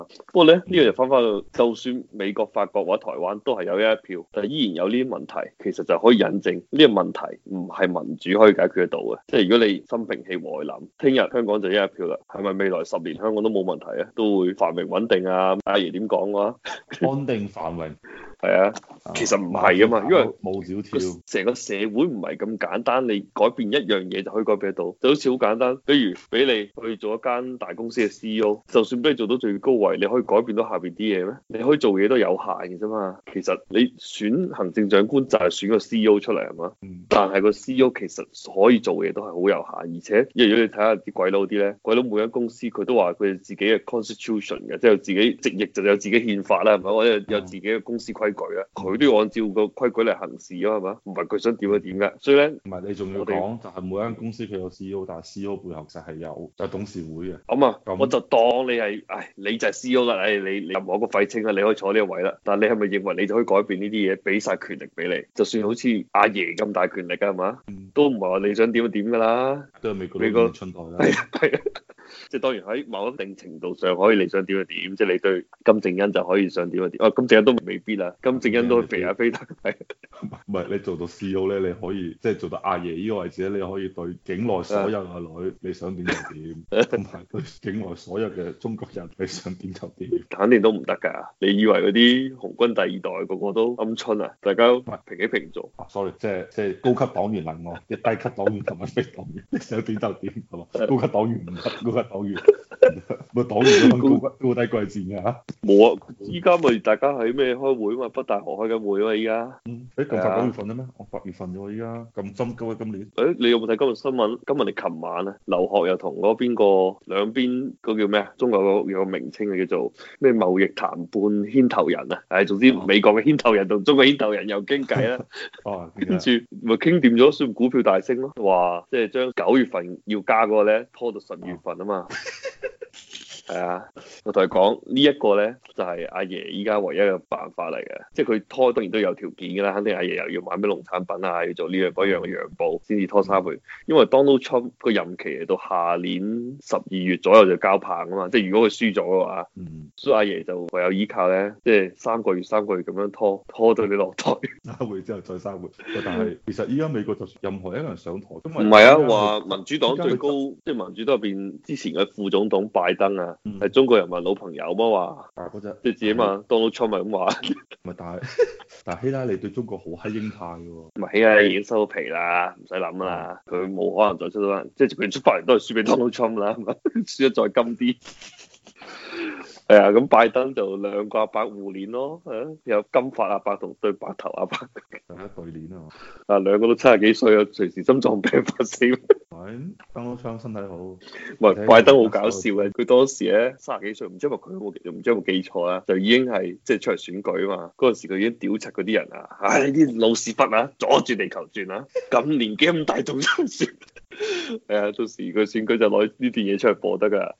不過咧呢個就翻返到，就算美國、法國或者台灣都係有一票，但係依然有呢啲問題，其實就可以引證呢個問題唔係民主可以解決得到嘅。即係如果你心平氣和諗，聽日香港就一票啦，係咪未來10年香港都冇問題啊？都會繁榮穩定啊？阿爺點講嘅話， 安定繁榮。 係啊，其實唔係啊嘛，因為冇小跳， 成個社會唔係咁簡單，你改變一樣嘢就可以改變得到，就好似好簡單，比如俾你去做一間大公司嘅 CEO，就算俾你做到最高位，你可以改變到下邊啲嘢咩？你可以做嘢都有限嘅啫嘛。其實你選行政長官就係選個 CEO 出嚟係嘛，但係個 CEO 其實可以做嘢都係好有限，而且如果你睇下啲鬼佬啲咧，鬼佬每間公司佢都話佢哋自己嘅 constitution 嘅，即係自己直譯就有自己憲法啦，係咪？或者有自己嘅公司規矩啊，佢都要按照個規矩嚟行事啊，係嘛？唔係佢想點就點嘅，所以咧， 唔係你仲要講就係每間公司佢有 CEO，但係 CEO 背後就係有董事會嘅。 咁啊，我就當你係，你就係 CEO 啦，你任何一個廢青啊，你可以坐呢個位啦。但係你係咪認為你就可以改變呢啲嘢，俾晒權力俾你？就算好似阿爺咁大權力啊，係嘛？都唔係話你想點就點㗎啦。 都係美國春台啦。 係啊。即係當然喺某一定程度上可以你想點就點，即係你對金正恩就可以想點就點。金正恩都未必啦，金正恩都肥下飛得。係唔係你做到 CEO 咧，你可以即係做到阿爺呢個位置咧，你可以對境內所有嘅女你想點就點，同埋對境內所有嘅中國人你想點就點。 肯定都唔得㗎。你以為嗰啲紅軍第二代個個都鵪鶉啊？大家平起平坐。 sorry，即係高級黨員能我，一低級黨員同埋非黨員，你想點就點係嘛？高級黨員唔得，高級黨員。咪黨員都分高低貴賤嘅嚇， 冇啊！依家咪大家喺咩開會嘛？北大河開緊會啊嘛！依家， 咁快9月份啦咩？我8月份啫喎，依家咁針急啊！今年， 你有冇睇今日新聞？今日你琴晚啊，劉鶴又同嗰邊個兩邊嗰叫咩啊？中國有個名稱啊，叫做咩貿易談判牽頭人啊！總之美國嘅牽頭人同中國牽頭人又傾偈啦。跟住咪傾掂咗，算股票大升咯。話即係將9月份要加嗰個咧拖到10月份啊嘛。係啊，我同佢講呢一個咧就係阿爺依家唯一嘅辦法嚟嘅，即係佢拖當然都有條件㗎啦，肯定阿爺又要買咩農產品啊，要做呢樣嗰樣嘅讓步先至拖3個月，因為 Donald Trump 個任期嚟到下年12月左右就交棒啊嘛，即係如果佢輸咗嘅話，所以阿爺就唯有依靠咧，即係3個月咁樣拖到你落台 3個月之後再3個月，但係其實依家美國就任何一個人上台，唔係啊，話民主黨最高即係民主黨入邊之前嘅副總統拜登啊。係中國人民老朋友嘛話，即係自己嘛，Donald Trump 咪咁話。 唔係，但係希拉里對中國好閪鷹派嘅喎。 唔係，希拉里已經收皮啦，唔使諗啦，佢冇可能再出到，即係佢出翻嚟都係輸俾 Donald Trump 啦，輸得再金啲。係啊，咁拜登就兩個阿伯互練咯，有金髮阿伯同對白頭阿伯。 大家對練啊！ 兩個都70幾歲啊，隨時心臟病發死。 登陸槍身體好。唔係拜登好搞笑嘅，佢當時咧30幾歲，唔知係咪佢唔知有冇記錯啊，就已經係即係出嚟選舉啊嘛。嗰陣時佢已經屌柒嗰啲人啊，呢啲老屎忽啊，阻住地球轉啊，咁年紀咁大仲出選。係啊，到時佢選舉就攞呢段嘢出嚟播得㗎。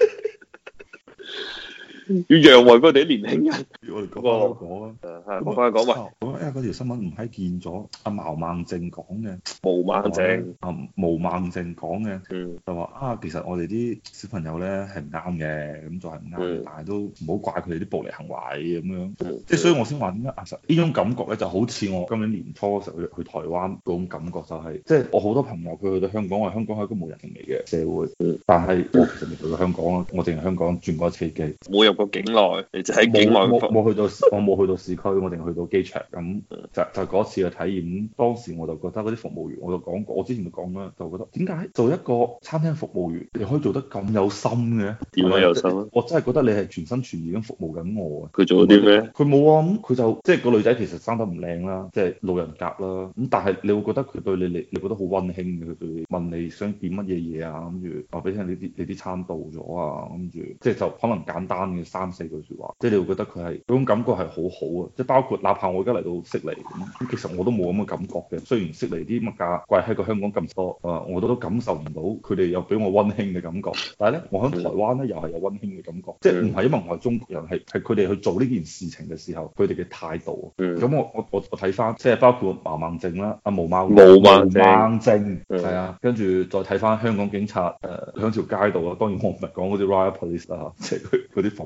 要讓位嗰哋啲年輕人。 我哋講啊， 講翻講嘛。 因為嗰條新聞唔係見咗阿毛孟靜講嘅。毛孟靜講嘅，就話其實我哋啲小朋友咧係唔啱嘅，咁就係唔啱，但係都唔好怪佢哋啲暴力行為咁樣。即係所以我先話點解其實呢種感覺咧就好似我今年年初嘅時候去台灣嗰種感覺，就係即係我好多朋友佢去到香港，話香港係一個無人情味嘅社會，但係我其實未去過香港啊，我淨係香港轉過一次機， 冇入過境內，你就喺境內。 我冇去到市區，我淨係去到機場咁，就嗰次嘅體驗。當時我就覺得嗰啲服務員，我就講過，我之前就講啦，就覺得點解做一個餐廳服務員，你可以做得咁有心嘅？ 點解有心啊？ 我真係覺得你係全心全意咁服務緊我啊！ 佢做咗啲咩？ 佢冇啊，咁佢就即係個女仔其實生得唔靚啦，即係路人甲啦。咁但係你會覺得佢對你覺得好溫馨嘅，佢對你問你想點乜嘢嘢啊，跟住話俾你聽你啲餐到咗啊，跟住即係就可能簡單嘅3-4句説話，即係你會覺得佢係嗰種感覺係好好啊！即係包括哪怕我而家嚟到悉尼咁，其實我都冇咁嘅感覺嘅。雖然悉尼啲物價貴喺個香港咁多我都感受唔到佢哋有俾我溫馨嘅感覺。但係咧，我喺台灣咧又係有溫馨嘅感覺，即係唔係因為我係中國人，係佢哋去做呢件事情嘅時候，佢哋嘅態度。咁我睇翻，即係包括毛孟靜啦，毛孟靜係啊，跟住再睇翻香港警察喺條街度啊。當然我唔係講嗰啲 riot police 啦，即係佢啲防暴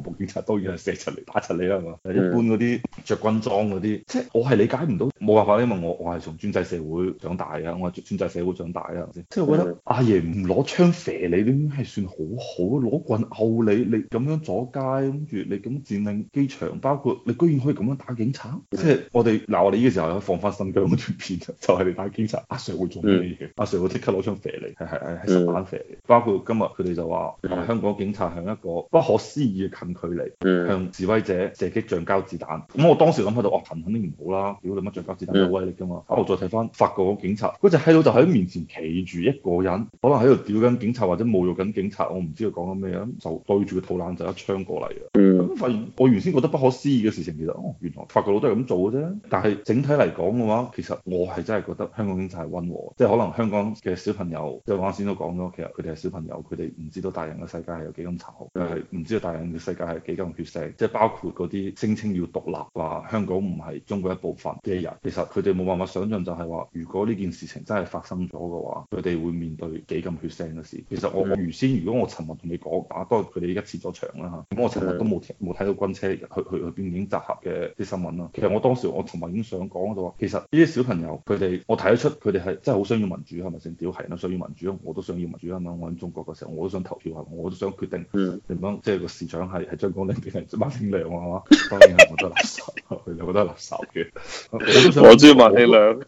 部警察當然係射出嚟打出你啦，係嘛？一般嗰啲着軍裝嗰啲，即係我係理解唔到，冇辦法，因為我係從專制社會長大啊，我係專制社會長大啊，係咪先？即係我覺得阿爺唔攞槍射你，都已經係算好好，攞棍毆你，你咁樣阻街，跟住你咁佔領機場，包括你居然可以咁樣打警察，即係我哋呢個時候可以放翻新疆嗰段片，就係你打警察，阿 Sir 會做咩嘢？阿 Sir 會即刻攞槍射你，係實彈射你。包括今日佢哋就話香港警察向一個不可思議嘅近距離向示威者射擊橡膠子彈。咁我當時諗喺度，哇，肯定唔好啦，屌你乜橡膠子彈有威力㗎嘛？我再睇翻法國嗰警察，嗰隻閪佬就喺面前企住一個人，可能喺度屌緊警察或者侮辱緊警察，我唔知佢講緊咩啊，就對住個肚腩就一槍過嚟嘅。咁發現我原先覺得不可思議嘅事情，其實原來法國佬都係咁做嘅啫。但係整體嚟講嘅話，其實我係真係覺得香港警察係溫和，即係可能香港嘅小朋友，即係我啱先都講咗，其實佢哋係小朋友，佢哋唔知道大人嘅世界係有幾咁殘酷，係唔知道大人嘅世界係幾咁血腥，即係包括嗰啲聲稱要獨立話香港唔係中國一部分嘅人，其實佢哋冇辦法想象就係話，如果呢件事情真係發生咗嘅話，佢哋會面對幾咁血腥嘅事。其實我原先如果我尋日同你講，當然佢哋依家撤咗場啦嚇，咁我尋日都冇睇到軍車去邊境集合嘅啲新聞啦。其實我當時我尋日已經想講就話，其實呢啲小朋友佢哋，我睇得出佢哋係真係好想要民主，係咪先？屌係啦，想要民主，我都想要民主啊嘛！我喺中國嘅時候，我都想投票，我都想決定點樣，即係個市長係張綱領定係馬興良啊嘛？當然係覺得垃圾，佢哋覺得垃圾嘅。 我中意馬興良。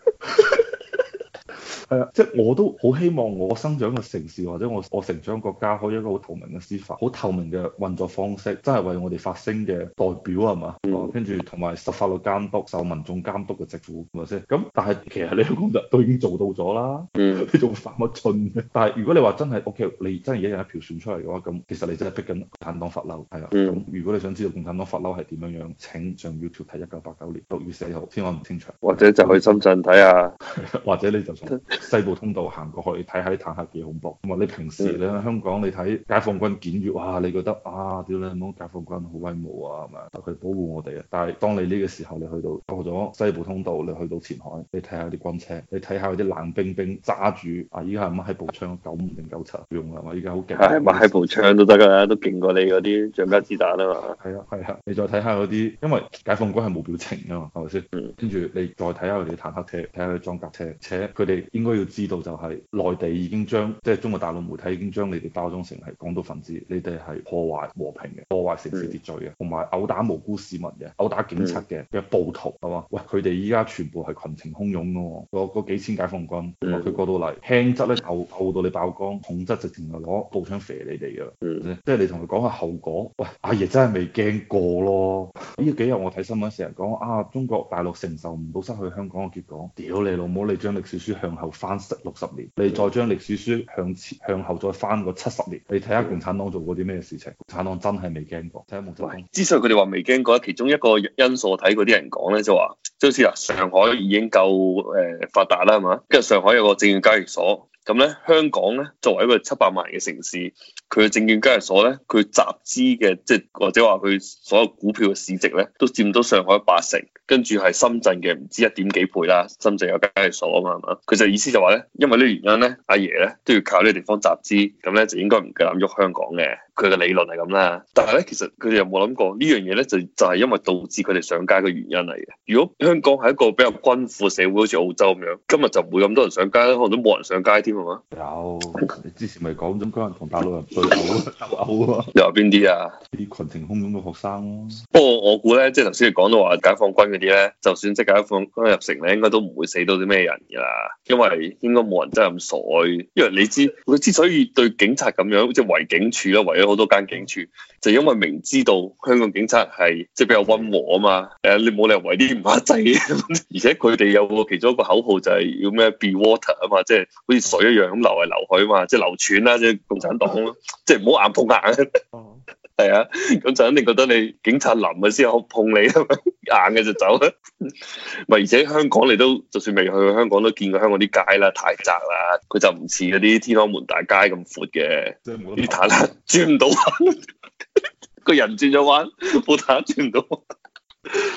係啊，即係我都好希望我生長嘅城市或者我成長國家可以一個好透明嘅司法，好透明嘅運作方式，真係為我哋發聲嘅代表係嘛？跟住同埋受法律監督、受民眾監督嘅政府係咪先？咁但係其實你香港都已經做到咗啦，你仲發乜春嘅？但係如果你話真係 OK，你真係一人一票選出嚟嘅話，咁其實你真係逼緊共產黨發嬲，係啊。咁如果你想知道共產黨發嬲係點樣樣，請上 YouTube 睇1989年6月4號天安門清場， 或者就去深圳睇下， 或者你就從西部通道行過去睇下啲坦克幾恐怖。咁啊，你平時你喺香港你睇解放軍檢閱，哇，你覺得啊，屌你冇解放軍好威武啊，係咪？佢保護我哋啊。但係當你呢個時候你去到過咗西部通道，你去到前海，你睇下啲軍車，你睇下嗰啲冷冰冰揸住啊，依家係乜喺步槍95定97用啊嘛？依家好勁， 係乜喺步槍都得㗎啦，都勁過你嗰啲橡膠子彈啊嘛。 係啊，你再睇下嗰啲，因為解放軍係冇表情㗎嘛，係咪先？跟住你再睇下佢哋坦克車，睇下佢哋裝甲車，且佢哋應該要知道就係內地已經將即係中國大陸媒體已經將你哋包裝成係港獨分子，你哋係破壞和平嘅，破壞城市秩序嘅，同埋毆打無辜市民嘅，毆打警察嘅暴徒係嘛？喂，佢哋依家全部係群情洶湧㗎喎，嗰幾千解放軍，佢過到嚟輕則咧毆到你爆光，重則直情係攞步槍射你哋㗎，即係你同佢講下後果。喂，阿爺真係未驚過咯。呢幾日我睇新聞成日講啊，中國大陸承受唔到失去香港嘅結果，屌你老母！你將歷史書向後翻60年，你再將歷史書向後再翻個70年，你睇下共產黨做過啲咩事情？共產黨真係未驚過。睇下毛澤東。 之所以佢哋話未驚過，其中一個因素我睇嗰啲人講咧，就話即好似啊，上海已經夠發達啦，係嘛？跟住上海有個證券交易所。咁咧，香港咧作為一個700萬人嘅城市，佢嘅證券交易所咧，佢集資嘅即係或者話佢所有股票嘅市值咧，都佔到上海80%，跟住係深圳嘅唔知1點幾倍啦。深圳有交易所啊嘛，係嘛？佢就意思就話咧，因為呢個原因咧，阿爺咧都要靠呢個地方集資，咁咧就應該唔夠膽喐香港嘅。佢嘅理論係咁啦，但係咧其實佢哋有冇諗過呢樣嘢咧，就係因為導致佢哋上街嘅原因嚟嘅。如果香港係一個比較均富社會，好似澳洲咁樣，今日就唔會咁多人上街，可能都冇人上街添係嘛？ 有，你之前咪講咗嗰人同大陸人對毆鬥毆啊？ 你話邊啲啊？ 啲群情洶湧嘅學生咯。 不過我估咧，即係頭先你講到話解放軍嗰啲咧，就算即係解放軍入城咧，應該都唔會死到啲咩人㗎啦，因為應該冇人真係咁傻。因為你知佢之所以對警察咁樣，即係圍警署啦，圍咗好多間警署，就因為明知道香港警察係即係比較溫和啊嘛。你冇理由圍啲唔黑仔嘅，而且佢哋有個其中一個口號就係要咩 Be Water 啊嘛，即係好似水一樣咁流嚟流去啊嘛，即係流傳啦，即係共產黨咯，即係唔好硬碰硬。係啊，咁就肯定覺得你警察腍嘅先好碰你，硬嘅就走啦。咪而且香港你都就算未去香港都見過香港啲街啦，太窄啦，佢就唔似嗰啲天安門大街咁闊嘅，啲坦克轉唔到彎，個人轉咗彎，部坦克轉唔到彎。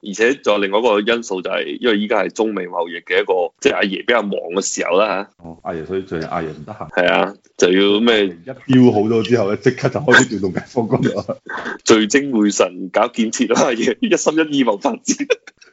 而且仲有另外一個因素就係，因為依家係中美貿易嘅一個，即係阿爺比較忙嘅時候啦嚇。 哦，阿爺，所以最近阿爺唔得閒。 係啊，就要咩一標好咗之後咧，即刻就開始調動解放軍啦。 聚精會神搞建設啦，阿爺一心一意謀發展。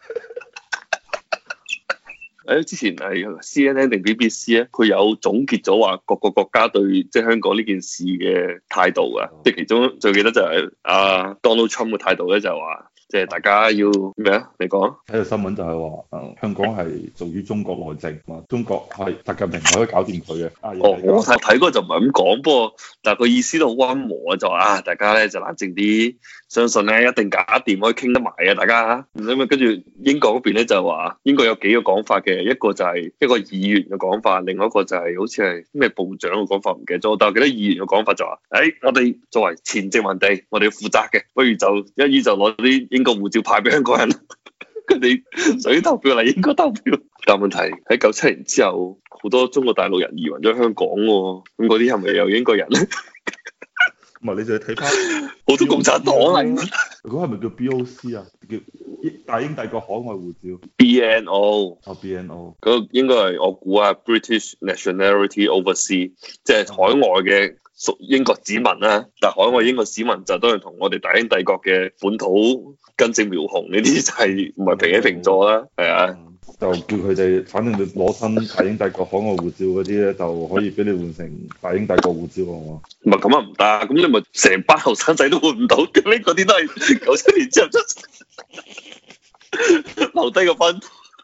誒，之前係 CNN 定 BBC 咧，佢有總結咗話各個國家對即係香港呢件事嘅態度啊，即係其中最記得就係阿 Donald Trump 嘅態度咧，就係話即係大家要咩啊？你講睇到新聞就係話，香港係屬於中國內政，中國係習近平可以搞掂佢嘅。 哦，我睇嗰個就唔係咁講，不過但係佢意思都好溫和啊，就話啊，大家咧就冷靜啲，相信咧一定搞掂，可以傾得埋嘅，大家。咁啊，跟住英國嗰邊咧就話，英國有幾個講法嘅，一個就係一個議員嘅講法，另外一個就係好似係咩部長嘅講法，唔記得咗。但係記得議員嘅講法就話，我哋作為前殖民地，我哋要負責嘅，不如就一於就攞啲英國護照派俾香港人，佢哋想投票嚟英國投票。但問題喺97年之後，好多中國大陸人移民咗香港喎，咁嗰啲係咪有英國人咧？ 唔係，你就睇翻好多共產黨嚟。 嗰個係咪叫 BOC 啊？叫大英帝國海外護照。 BNO。 哦，BNO。 嗰個應該係我估啊，British Nationality Overseas，即係海外嘅屬英國子民啦。但係海外英國子民就當然同我哋大英帝國嘅本土根正苗紅呢啲就係唔係平起平坐啦，係啊。 就叫佢哋，反正你攞親大英帝國海外護照嗰啲咧，就可以俾你換成大英帝國護照啊嘛。 唔係咁啊，唔得，咁你咪成班後生仔都換唔到，咁呢嗰啲都係97年之後出留低個分。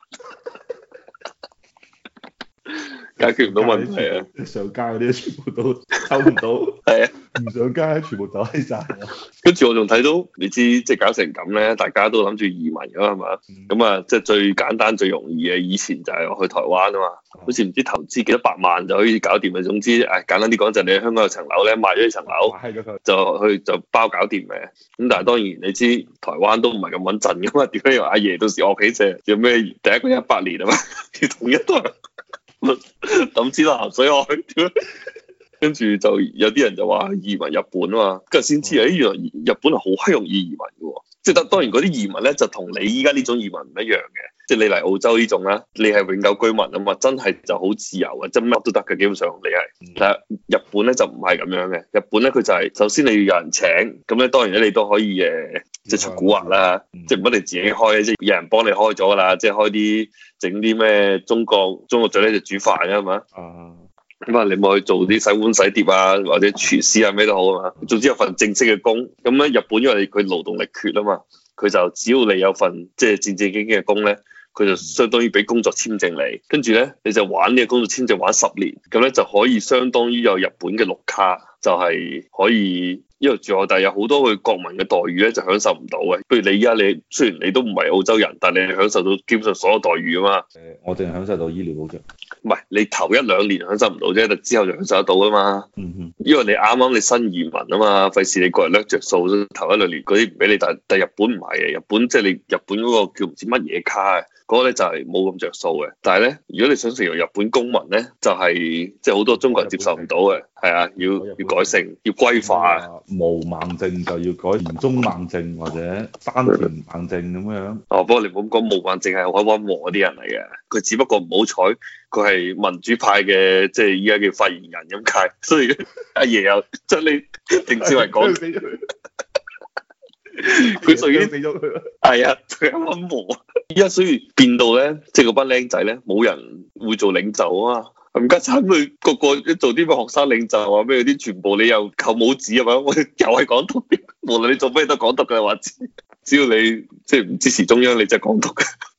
解決唔到問題啊！ 上街嗰啲全部都抽唔到， 係啊， 唔上街全部走閪晒。 跟住我仲睇到，你知即係搞成咁咧，大家都諗住移民㗎係嘛？咁啊，即係最簡單最容易嘅，以前就係去台灣啊嘛，好似唔知投資幾多百萬就可以搞掂嘅。總之，簡單啲講就係你喺香港有層樓咧，賣咗呢層樓，就包搞掂嘅。咁但係當然你知台灣都唔係咁穩陣㗎嘛？點解又阿爺到時惡起隻？有咩第一個100年啊嘛？要統一都係。抌錢落鹹水海，跟住就有啲人就話移民日本啊嘛，跟住先知原來日本係好閪容易移民嘅喎，即係當然嗰啲移民咧就同你依家呢種移民唔一樣嘅，即係你嚟澳洲呢種咧，你係永久居民啊嘛，真係就好自由嘅，即係乜都得嘅，基本上你係。但係日本咧就唔係咁樣嘅，日本咧佢就係首先你要有人請，咁咧當然咧你都可以即係出蠱惑啦，即係唔一定自己開，即係有人幫你開咗噶啦，即係開啲整啲咩中國最叻就煮飯啊嘛。咁你咪去做啲洗碗洗碟啊，或者廚師啊咩都好啊嘛。總之有份正式嘅工，咁咧日本因為佢勞動力缺啊嘛，佢就只要你有份即係正正經經嘅工咧，佢就相當於俾工作簽證你，跟住咧你就玩呢個工作簽證玩10年，咁咧就可以相當於有日本嘅綠卡，就係可以一路住，但係有好多佢國民嘅待遇咧就享受唔到嘅。不如你依家你雖然你都唔係澳洲人，但係你享受到基本上所有待遇啊嘛。 我淨係享受到醫療保障。 唔係你頭1-2年享受唔到啫，但之後就享受得到啊嘛。因為你啱啱你新移民啊嘛，費事你個人掠着數，頭1-2年嗰啲唔俾你，但日本唔係嘅，日本即係你日本嗰個叫唔知乜嘢卡嘅。嗰個咧就係冇咁着數嘅，但係咧，如果你想成為日本公民咧，就係即係好多中國人接受唔到嘅，係啊，要改姓，要歸化啊。 無盲症就要改田中盲症或者山田盲症咁樣。 哦，不過你唔好講無盲症係好溫和嗰啲人嚟嘅，佢只不過唔好彩，佢係民主派嘅，即係依家叫發言人咁解，所以阿爺又將你定志為講。佢屬於死咗佢啦，係啊，佢係溫和。依家所以變到咧，即係嗰班僆仔咧，冇人會做領袖啊嘛。咁家產佢個個做啲咩學生領袖啊咩嗰啲，全部你又扣帽子係嘛？我又係港獨，無論你做咩都港獨嘅話，只要你即係唔支持中央，你就係港獨嘅。